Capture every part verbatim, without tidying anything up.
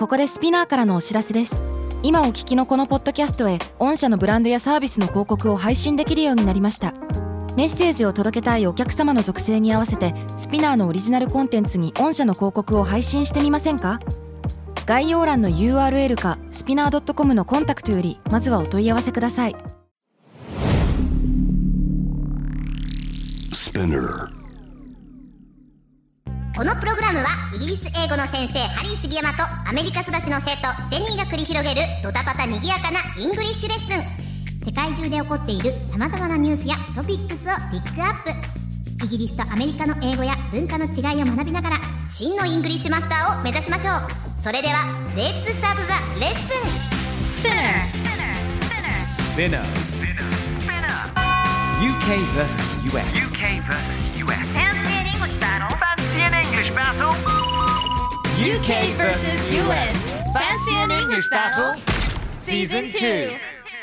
ここでスピナーからのお知らせです。今お聞きのこのポッドキャストへ御社のブランドやサービスの広告を配信できるようになりました。メッセージを届けたいお客様の属性に合わせてスピナーのオリジナルコンテンツに御社の広告を配信してみませんか？概要欄の ユーアールエル かスピナー ドットコム のコンタクトよりまずはお問い合わせください。 このプログラムはイギリス英語の先生ハリー杉山とアメリカ育ちの生徒ジェニーが繰り広げるドタパタにぎやかなイングリッシュレッスン。世界中で起こっている様々なニュースやトピックスをピックアップ。イギリスとアメリカの英語や文化の違いを学びながら真のイングリッシュマスターを目指しましょう。それではレッツスタートザレッスン。スピナースピナー ユーケー vs ユーエス ユーケー vs ユーエス Fancy an English battle Fancy an English battle ユーケー vs ユーエス Fancy an English battle Season two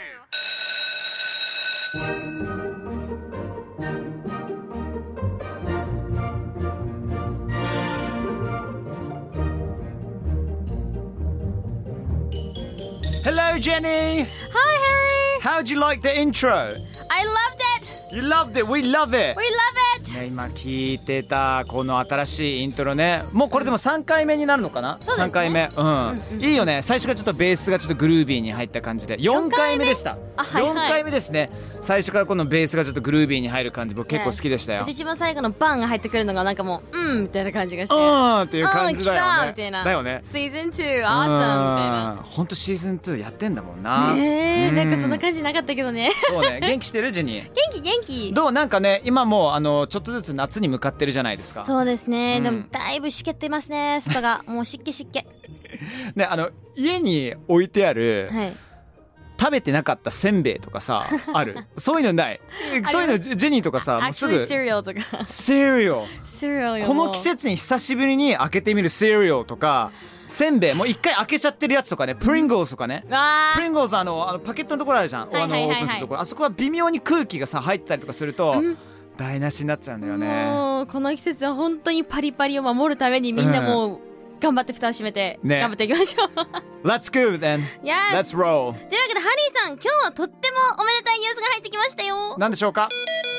Hello, Jenny. Hi, Harry. How'd you like the intro? I loved it. You loved it. We love it. We love it. ね、今聞いてたこの新しいイントロね。もうこれでもさんかいめになるのかな？ そうですね。 さんかいめ。うん。うんうん、いいよね。最初がちょっとベースがちょっとグルービーに入った感じで。よんかいめでした。 あ、はいはい、 よんかいめですね。最初からこのベースがちょっとグルービーに入る感じ僕結構好きでしたよ。 一番最後のバンが入ってくるのがなんかもううんみたいな感じがして。 うんっていう感じだよね。 来たみたいな。 だよね。 シーズンツー awesome みたいな。 本当シーズンツーやってんだもんな。 ねえ、なんかそんな感じなかったけどね。 そうね。元気してるジェニー。 元気元気。 どうなんかね今もうあのちょっとずつ夏に向かってるじゃないですか。 そうですね、 うん、 でもだいぶ湿気ってますね外がもう湿気湿気ね、あの家に置いてある、 はい、 食べてなかったせんべいとかさあるそういうのないそういうのジェニーとかさもうすぐ Actually cereal とか cereal cereal この季節に久しぶりに開けてみる cereal とかせんべいもう一回開けちゃってるやつとかねプリングルズとかねプリングルズあのあのパケットのところあるじゃん、 はいはいはいはい、 あのオープンするところあそこは微妙に空気がさ入ってたりとかすると、うん台無しになっちゃうんだよね。 もうこの季節は本当にパリパリを守るためにみんなもう頑張って蓋を閉めて頑張っていきましょう、 ね、Let's go then Yes Let's roll というわけでハリーさん今日はとってもおめでたいニュースが入ってきましたよ。 何でしょうか。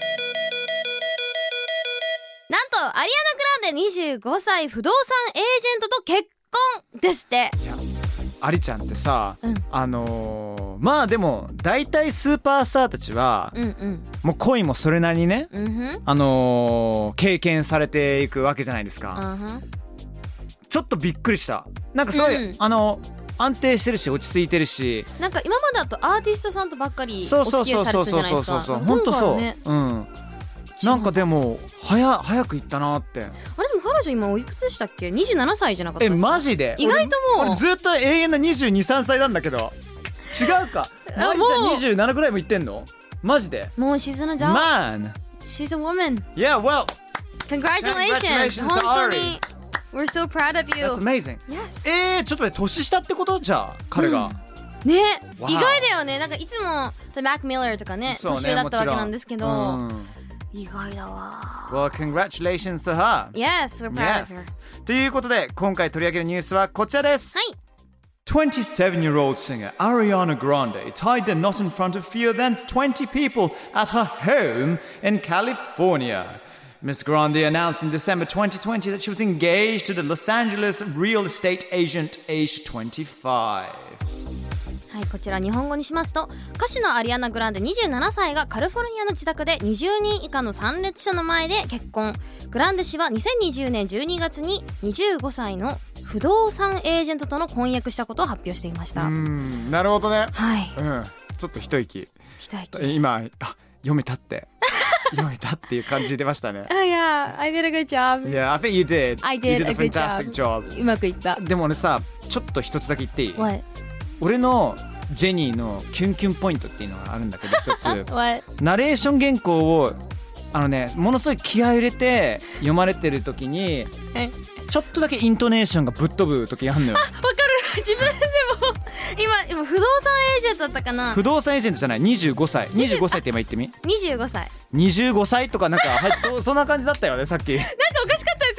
なんとアリアナ・グランデにじゅうごさい不動産エージェントと結婚ですって。 いやアリちゃんってさ、 うん、 あのー、まあでも大体スーパースターたちは、うんうん、もう恋もそれなりにね、うん、あのー、経験されていくわけじゃないですか、うん、ちょっとびっくりした。なんかすごい、うん、あの安定してるし落ち着いてるしなんか今までだとアーティストさんとばっかりお付き合いされてたじゃないですか。 本当そう、ね、うんなんかでも早早く行ったなって。あれでも彼女今おいくつでしたっけ？にじゅうななさいじゃなかったですか？ えマジで意外ともう俺, 俺ずっと永遠なにじゅうに、さんさいなんだけど違うかマリちゃんにじゅうななぐらいも行ってんのマジでもう she's an adult Man she's a woman Yeah well Congratulations 本当に We're so proud of you That's amazing Yes えーちょっと待って年下ってことじゃあ彼が、 うん、ね、wow. 意外だよね。なんかいつもマック・ミラーとかね年上だったわけなんですけど、うん意外だわ。 Well, congratulations to her. Yes, we're proud of her. ということで今回取り上げるニュースはこちらです。 はい。 twenty-seven-year-old singer Ariana Grande tied the knot in front of fewer than twenty people at her home in California. Miss Grande announced in December twenty twenty that she was engaged to the Los Angeles real estate agent aged twenty-five. はい、こちら日本語にしますと歌手のアリアナ・グランデにじゅうななさいがカリフォルニアの自宅でにじゅうにん以下の参列者の前で結婚。グランデ氏はにせんにじゅうねんじゅうにがつににじゅうごさいの不動産エージェントとの婚約したことを発表していました。 うーんなるほどね。 はい、 うん、ちょっと一息一息今あ読めたって読めたっていう感じ出ましたね。 Oh yeah, I did a good job. Yeah, I think you did. I did, you did a, a good fantastic job. job. うまくいった。 でも俺さちょっと一つだけ言っていい？ What? 俺のジェニーのキュンキュンポイントっていうのがあるんだけど一つ What? ナレーション原稿をあのねものすごい気合い入れて読まれてる時にちょっとだけイントネーションがぶっ飛ぶ時あるのよ。 あ、わかる。自分でも今今不動産エージェントだったかな。 不動産エージェントじゃないにじゅうごさいにじゅうごさいって今言ってみ。 にじゅうごさいにじゅうごさいとかなんかはい そ, そんな感じだったよねさっき。 なんかおかしかったです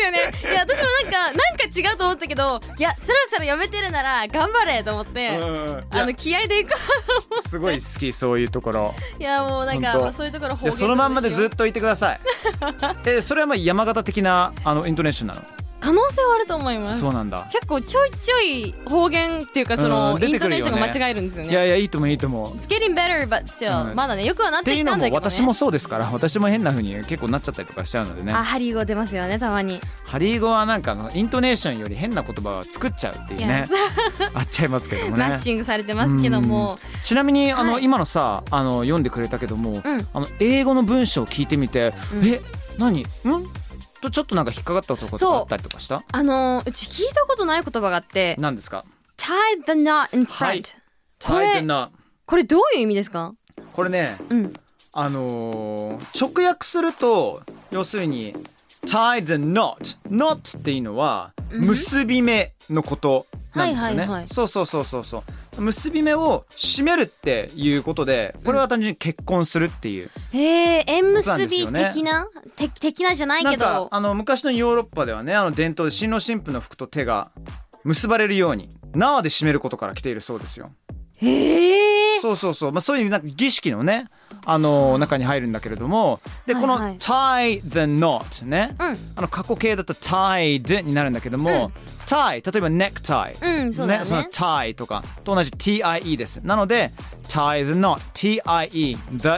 ですよね。いや私もなんかなんか違うと思ったけど、いやそろそろ読めてるなら頑張れと思って、あの気合でいくすごい好きそういうところ。 いやもうなんか、まあ、そういうところ方言そのまんまでずっといてくださいえそれはまあ山形的なあのイントネーションなの？ 可能性はあると思います。 そうなんだ。 結構ちょいちょい方言っていうかその、うん、イントネーションが間違えるんですよね。 いやいやいいともいいとも。 It's getting better but still、うん、まだねよくはなってきたんだけどね。っていうのも私もそうですから、私も変な風に結構なっちゃったりとかしちゃうのでね。 あハリー語出ますよねたまに。 ハリー語はなんかのイントネーションより変な言葉を作っちゃうっていうねあっちゃいますけどもね。 マッシングされてますけども。 ちなみにあの、はい、今のさあの読んでくれたけども、うん、あの英語の文章を聞いてみて、うん、え何んとちょっとなんか引っかかったところとかあったりとかした？ あのー、うち聞いたことない言葉があって。 何ですか？ tie the knot in front、はい、これ tie the knot これどういう意味ですか？ これね、うん、あのー、直訳すると要するに tie the knot knot っていうのは結び目のことなんですよね、はいはいはい、そうそうそうそうそう結び目を締めるっていうことで、これは単純に結婚するっていう、 うん、へえ縁結び的な的的なじゃないけど、 なんかあの昔のヨーロッパではね、あの伝統で新郎新婦の服と手が結ばれるように縄で締めることから来ているそうですよ。 へえ。 そうそうそう、まあ、そういうなんか儀式のねあの中に入るんだけれども、でこの tie the knot ね、うん、あの過去形だと tied になるんだけども、うん、tie 例えば necktie、 うんそうだね、 その tie とかと同じ tie です。なので tie the knot tie the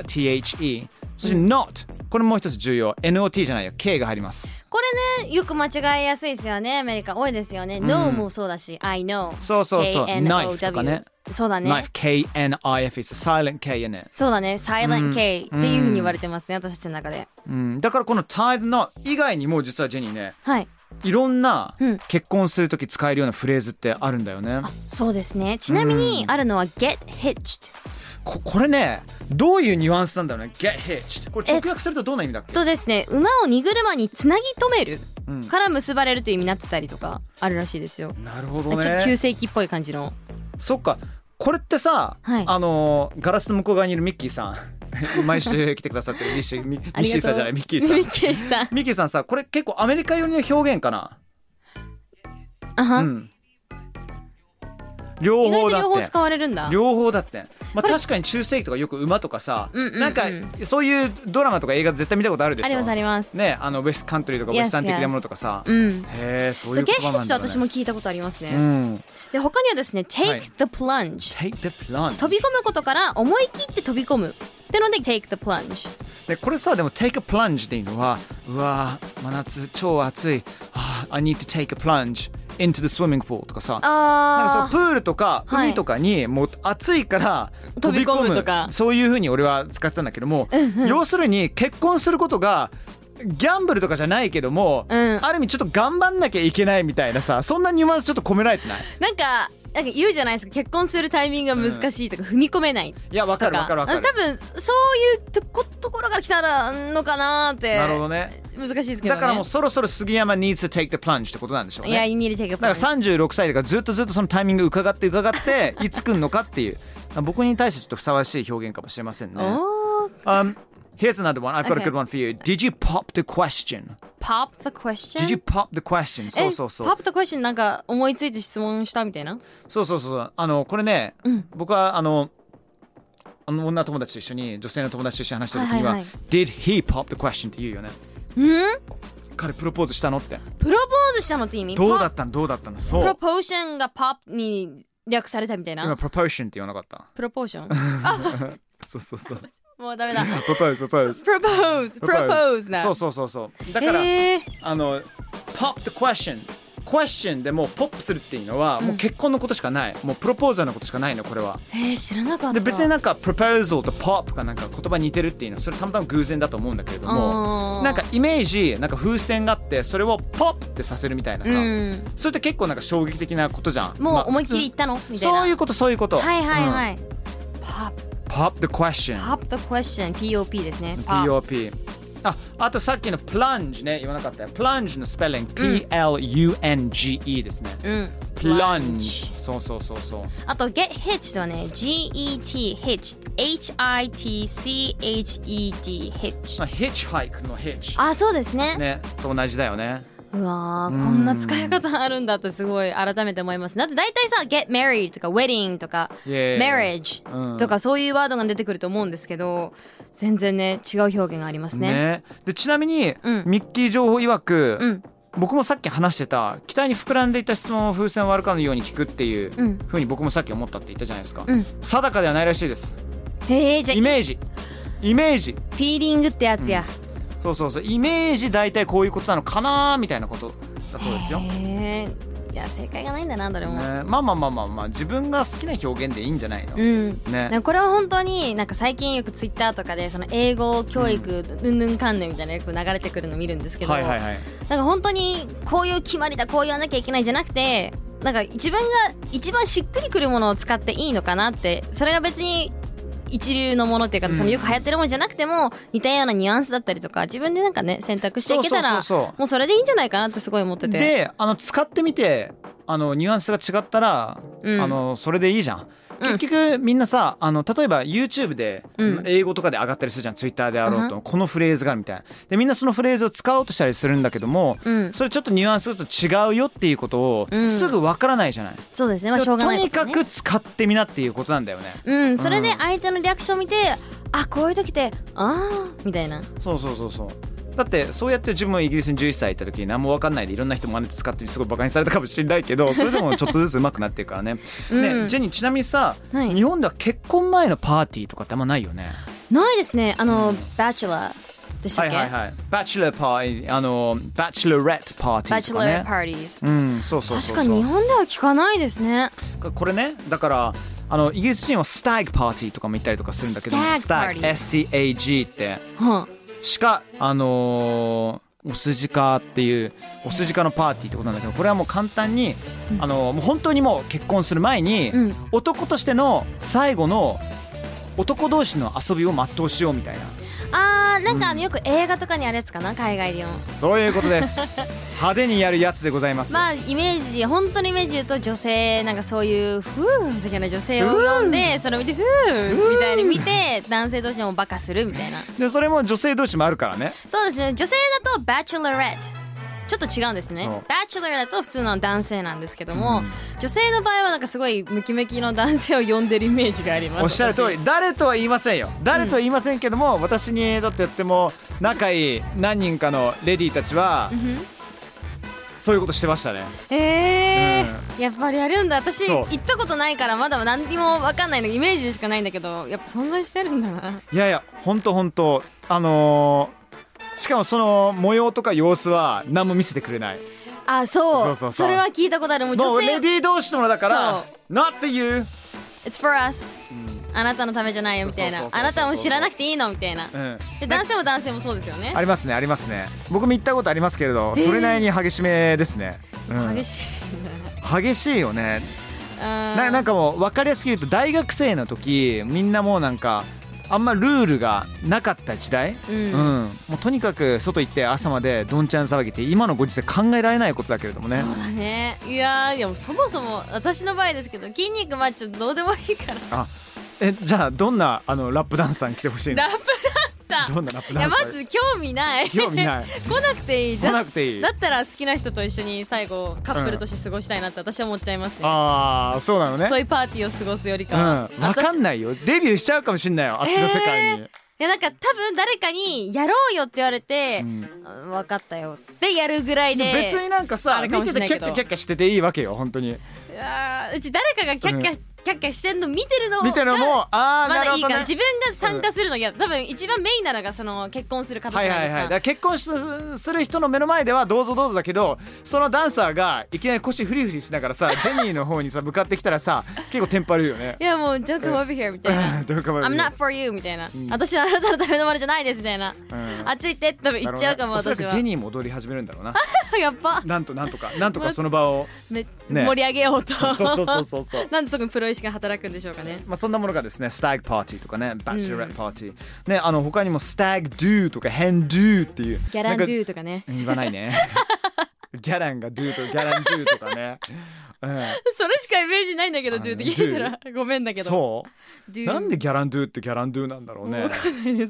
the そして not、うん、これもう一つ重要 not じゃないよ k が入ります。 これねよく間違えやすいですよね。アメリカ多いですよね、うん、no もそうだし I know そうそうそう knife とかね。 そうだね knife k n i f it's a silent k in it。 そうだね silent k、うん、っていう風に言われてますね、私たちの中で、 うん、だからこの tie the knot 以外にも実はジェニーね、 はい、 いろんな結婚するとき使えるようなフレーズってあるんだよね、うん、 あそうですね。ちなみにあるのは get hitched。 こ, これねどういうニュアンスなんだろうね get hitched。 これ直訳するとどんな意味だっけ？ とですね、馬を荷車につなぎ止めるから結ばれるという意味になってたりとかあるらしいですよ。 なるほどね。 ちょっと中世紀っぽい感じの。 そっか、これってさ、はい、あのガラスの向こう側にいるミッキーさん毎週来てくださってるミッシーミッシーさんじゃないミッキーさんミッキーさんミッキーさんさ、これ結構アメリカ寄りの表現かな。 あは、 うん、両方だって。意外と両方使われるんだ。 両方だって、まあ、確かに中世紀とかよく馬とかさ、うんうんうん、なんかそういうドラマとか映画絶対見たことあるでしょ。 ありますありますね。 あのウェストカントリーとかウェスタン的なものとかさ、 yes, yes. うん、 へえそういう言葉なんだね。 ゲッヘッチ私も聞いたことありますね、 うん、 で他にはですね take、はい、the plunge take the plunge 飛び込むことから思い切って飛び込むってので take the plunge で、これさでも take a plunge っていうのはうわ真夏超暑い、ah, I need to take a plunge into the swimming pool とかさ、 あなんかそのプールとか海とかにもう暑いから飛び込む、 飛び込むとかそういう風に俺は使ってたんだけども、うんうん、要するに結婚することがギャンブルとかじゃないけども、うん、ある意味ちょっと頑張んなきゃいけないみたいなさ、そんなニュアンスちょっと込められてない？ なんかなんか言うじゃないですか、結婚するタイミングが難しいとか、うん、踏み込めない。いやわかるわかるわかる。 多分そういうと こ, ところから来たのかなって。 なるほどね。 難しいですけどね。 だからもうそろそろ杉山 needs to take the plunge ってことなんでしょうね。 いや you need to take a plunge。 だからさんじゅうろくさいだからずっとずっとそのタイミング伺って伺っていつ来んのかっていう僕に対してちょっとふさわしい表現かもしれませんね。um, Here's another one. I've got、okay. a good one for you. Did you pop the question? Pop the question? Did you pop the question? そうそうそう。 Pop the question なんか思いついて質問したみたいな。 そうそうそう。あのこれね、うん、僕はあのあの女友達と一緒に女性の友達と一緒に話した時には、はいはいはい、Did he pop the question って言うよね。 うん？ 彼プロポーズしたのって。 プロポーズしたのって意味？ どうだったのどうだったの？そう。 プロポーションが pop に略されたみたいな。 今プロポーションって言わなかった？ プロポーション。あそうそうそう。 もうダメだ。 プロポーズプロポーズプロポーズプロポーズな。 そうそうそうそう。だからあの pop the question question でもうポップするっていうのはもう結婚のことしかない、うん、もうプロポーザーのことしかないのこれは。 えー、知らなかった。 で別になんか proposal と pop がなんか言葉似てるっていうのはそれたまたま偶然だと思うんだけれども、なんかイメージなんか風船があってそれを pop ってさせるみたいなさ、うん、それって結構なんか衝撃的なことじゃん。 もう思いっきり言ったの、まあ、みたいな。 そういうことそういうこと。 はいはいはい、うん、 pop pop the question pop the question P O P ですね。 P O P。あ, あとさっきの plunge ね言わなかったよ。 plunge のスペリング P L U N G E ですね、うん、plunge。 そうそうそうそう。 あと get hitched はね G E T hitched H I T C H E D hitched。 hitchhike の hitch。 あそうですね。 ねと同じだよね。 うわー、 うんこんな使い方あるんだってすごい改めて思います。だって大体さ get married とか wedding とか Yeah. marriage とかそういうワードが出てくると思うんですけど、全然ね違う表現がありますね。 ねでちなみに、 うんミッキー情報曰く、 うん僕もさっき話してた期待に膨らんでいた質問を風船を割るかのように聞くっていううん風に僕もさっき思ったって言ったじゃないですか、 うん定かではないらしいです。 へえ、じゃあイメージイメージフィーリングってやつや。 そうそうそうイメージ大体こういうことなのかなみたいなことだそうですよ、 へえ、いや正解がないんだなどれも、 ね、まあまあまあまあまあ自分が好きな表現でいいんじゃないの、 うんねなんかこれは本当になんか最近よくツイッターとかでその英語教育うんぬんかんぬんみたいなよく流れてくるの見るんですけど、 はいはいはいなんか本当にこういう決まりだこう言わなきゃいけないじゃなくて、なんか自分が一番しっくりくるものを使っていいのかなって、それが別に一流のものっていうか、 うんそのよく流行ってるものじゃなくても似たようなニュアンスだったりとか自分でなんかね選択していけたらそうそうそうそうもうそれでいいんじゃないかなってすごい思ってて、 であの使ってみてあのニュアンスが違ったら、 うんあのそれでいいじゃん。 うん結局みんなさあの例えば YouTube でうん英語とかで上がったりするじゃん、Twitter であろうと、 うこのフレーズがみたいなでみんなそのフレーズを使おうとしたりするんだけども、 うんそれちょっとニュアンスがちょっと違うよっていうことをうんすぐわからないじゃない、 そうですね、まあしょうがないとにことねかく使ってみなっていうことなんだよね。 うんそれで相手のリアクションを見て、あこういう時ってあーみたいな。 そうそうそうそうだってそうやって自分もイギリスにじゅういっさい行った時に何も分かんないでいろんな人真似て使ってすごいバカにされたかもしれないけどそれでもちょっとずつ上手くなっていくからね。 うんねジェニーちなみにさ、 はい日本では結婚前のパーティーとかってあんまないよね。 ないですね、あのバチェラーでしたっけ、 はいはいはいバチェラーパーティーあのバチェラレットパーティバチェラーーとかね。 パーティーズ、 うんそうそうそうそう確かに日本では聞かないですね。 これねだからあのイギリス人はスタッグパーティーとかも行ったりとかするんだけど Stag party エスティーエージー ってはしかあのーお筋科っていうお筋科のパーティーってことなんだけど、これはもう簡単に、あのーもう本当にもう結婚する前に、 あ、うん、 男としての最後の男同士の遊びを全うしようみたいな、 あーなんかあのよく映画とかにあるやつかな、海外での。 そういうことです派手にやるやつでございます。 まあイメージ本当にイメージ言うと女性なんかそういうフー的な女性を呼んでそれを見てフーみたいに見て男性同士でもバカするみたいな。 でそれも女性同士もあるからね。 そうですね、女性だとバチェラレットちょっと違うんですね。 そうバチェラーだと普通の男性なんですけども、 うん女性の場合はなんかすごいムキムキの男性を呼んでるイメージがあります。 おっしゃる通り私誰とは言いませんよ誰とは言いませんけども、私にとってとっても仲いい何人かのレディーたちはうんふんそういうことしてましたね。 えーやっぱりやるんだ。私そう行ったことないからまだ何にも分かんないのイメージでしかないんだけど、やっぱ存在してるんだな。 いやいやほんとほんとあのー、しかもその模様とか様子は何も見せてくれない。 あ、そうそうそうそうれは聞いたことある。もうもう女性レディー同士のものだからそ Not for you、 It's for us、あなたのためじゃないよみたいな。 そうそうそうそうあなたも知らなくていいのみたいな。 うん、 で男性も男性もそうですよね。 ありますねありますね。僕も行ったことありますけれどそれなりに激しめですね、うん、 激しい激しいよね。 な。 ななんかもう分かりやすく言うと大学生の時みんなもうなんかあんまルールがなかった時代、 うんうんもうとにかく外行って朝までどんちゃん騒ぎって今のご時世考えられないことだけれどもね。 そうだね。いやーでもそもそも私の場合ですけど筋肉マッチョどうでもいいから。 あえじゃあどんなあのラップダンサーに来てほしいの？ ラップダンサーどんなラップいやダンサー？ まず興味ない。 興味ない来なくていい。 来だなくていい。 だったら好きな人と一緒に最後カップルとして過ごしたいなって私は思っちゃいますね。 ああそうなのね。 そういうパーティーを過ごすよりかうんは。 分かんい。 ないよデビューしちゃうかもしんないよあっちの世界に、 いやなんか多分誰かにやろうよって言われて、 うんうん分かったよってやるぐらいで。 別になんかさあるかも見してれないけどてキャッキャキャッキャしてていいわけよ本当に。 いやーうち誰かがキャッキャ、 うんキャッキャしてんの見てるのが見てるのもああまだいいから、 なるほどね。 自分が参加するの嫌、多分一番メインなのがその結婚する形じゃないですか、 はいはいはい、だから結婚しする人の目の前ではどうぞどうぞだけどそのダンサーがいきなり腰フリフリしながらさジェニーの方にさ向かってきたらさ結構テンパるよね。 いやもう Don't come over here みたいなどうかも I'm not for you みたいな、 ん私はあなたのためのものじゃないですみたいな、 うんあっち行ってって多分言っちゃうかも、 おそら私はくジェニーも踊り始めるんだろうなやっぱなんとなんとかなんとかその場をめ、 ね盛り上げようとそうそうそうそうそうなんでそこにプロ意識が働くんでしょうかね。 まあそんなものがですねスタッグパーティーとかねバチェラレットパーティー、ねあの他にもスタッグドゥとかヘンドゥっていうギャランドなんかゥとかね言わないねギャランがドゥとギャランドゥとかね、うん、 それしかイメージないんだけどあのドゥって聞いたらごめんだけどそうドゥなんでギャランドゥってギャランドゥなんだろうねわかんないです。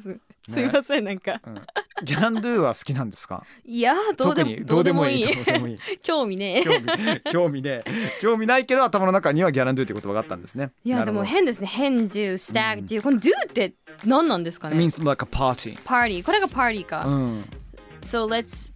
すいませんなんか、 うん、ギャランドゥは好きなんですか？ いやどうでも特にどうでもいいどうでもいい興味ね興味興味ね興味ないけど頭の中にはギャランドゥっていう言葉があったんですね。 いやでも変ですね。変 do stag do、うん、この do って何なんですかね？ It means like a party party これがパーティーか、 うん、 So let's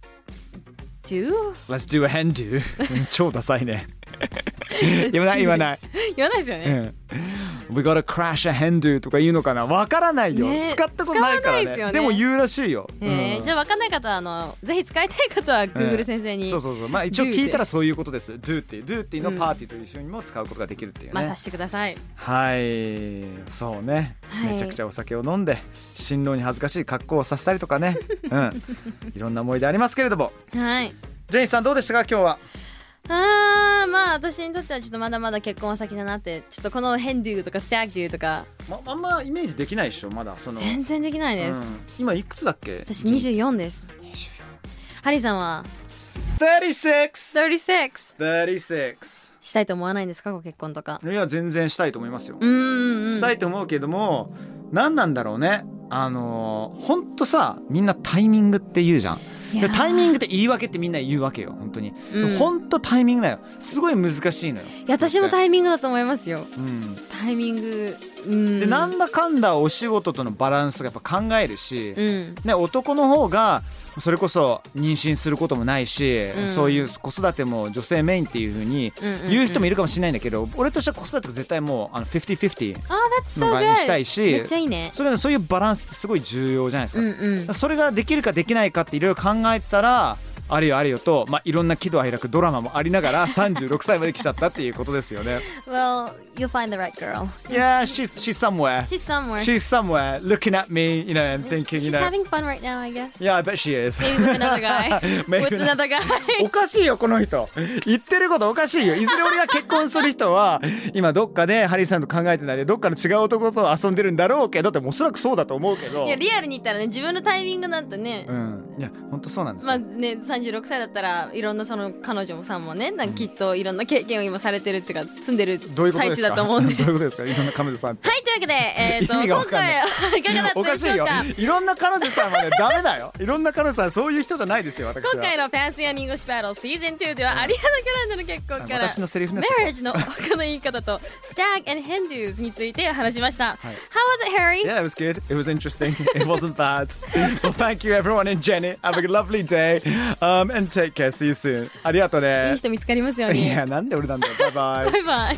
do Let's do a hen do 超ダサいね言わない言わない言わないですよね、 うん、We gotta crash a hen do とか言うのかな、わからないよ、ね、使ったことないからね。 で, ねでも言うらしいよ、 えーうん、じゃあわかんない方はあのぜひ使いたい方は Google 先生に、 えー、そうそうそう、まあ一応聞いたらそういうことです。 do っていう do っていうのをパーティーと一緒にも使うことができるっていうね、 まあさせてください。 はいそうね、 はい、 めちゃくちゃお酒を飲んで新郎に恥ずかしい格好をさせたりとかね、うん、いろんな思い出ありますけれども、 はい、 ジェイさんどうでしたか今日は？ あーまあ私にとってはちょっとまだまだ結婚は先だなって、ちょっとこのヘンデューとかスタッグデューとか、 ま、あんまイメージできないでしょまだその全然できないです、 うん、今いくつだっけ？ 私にじゅうよんです。 にじゅうよん。 ハリーさんはさんじゅうろく さんじゅうろくさんじゅうろくしたいと思わないんですかご結婚とか？ いや全然したいと思いますよ。 うんうんうんしたいと思うけども何なんだろうね、あのー、ほんとさみんなタイミングって言うじゃん。タイミングって言い訳ってみんな言うわけよ本当に、うん、本当タイミングだよ、すごい難しいのよ。 いや私もタイミングだと思いますよ、 うん、 タイミング、うん、 でなんだかんだお仕事とのバランスがやっぱ考えるし、 うんね、男の方がそれこそ妊娠することもないし、うん、そういう子育ても女性メインっていう風に言う人もいるかもしれないんだけど、うんうんうん、俺としては子育てが絶対もうあのフィフティフィフティの側にしたいし、 めっちゃいいね。 それそういうバランスってすごい重要じゃないですか、 うんうん、 それができるかできないかっていろいろ考えたらあれよあれよと、まあ、いろんな喜怒哀楽ドラマもありながらさんじゅうろくさいまで来ちゃったっていうことですよね。 Well, you'll find the right girl. Yeah, she's she's somewhere. She's somewhere. She's somewhere looking at me, you know, and thinking, you She's know. having fun right now, I guess. Yeah, I bet she is. Maybe with another guy. With another guy. おかしいよこの人。言ってることおかしいよ。いずれ俺が結婚する人は今どっかでハリーさんと考えてないでどっかの違う男と遊んでるんだろうけどっておそらくそうだと思うけど。 いやリアルに言ったらね自分のタイミングなんてね。 うん。いや本当そうなんですよ。 まあねさんじゅうろくさいだったらいろんなその彼女さんもねなんかきっといろんな経験を今されてるっていうか積んでる最中だと思うんで。 どういうことですかいろんな彼女さんって。 はいというわけで、えー、と今回はいかがだったでしょうか。 いろんな彼女さんはねダメだよ。いろんな彼女さんそういう人じゃないですよ私は。 今回の Fancy and English Battle Season ツーではアリアナ・グランデの結婚から私のセリフね Marriage の他の言い方と Stag and Hen do's について話しました、はい、How was it, Harry? Yeah, it was good. It was interesting. It wasn't bad. Well, thank you everyone and Jenny. Have a lovely day、um, and take care. See you soon. ありがとうね。 いい人見つかりますように。 いやなんで俺なんだよ。バイバイ。 バイバイ。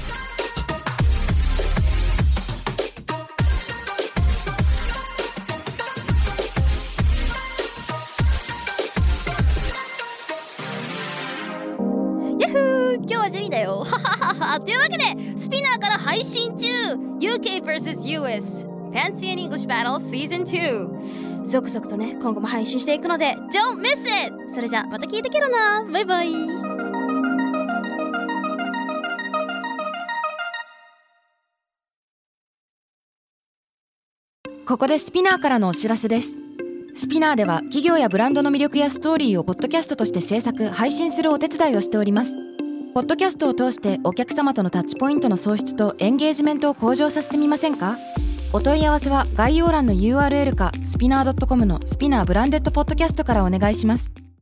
ヤッフー今日はジェニーだよというわけでスピナーから配信中 ユーケー ブイエス ユーエス Fancy and English Battle Season ツー続々とね今後も配信していくので Don't miss it。 それじゃまた聞いてけろな。バイバイ。 ここでスピナーからのお知らせです。スピナーでは企業やブランドの魅力やストーリーをポッドキャストとして制作配信するお手伝いをしております。ポッドキャストを通してお客様とのタッチポイントの創出とエンゲージメントを向上させてみませんか？お問い合わせは概要欄の ユーアールエル かスピナー ドットコム のスピナーブランデッドポッドキャストからお願いします。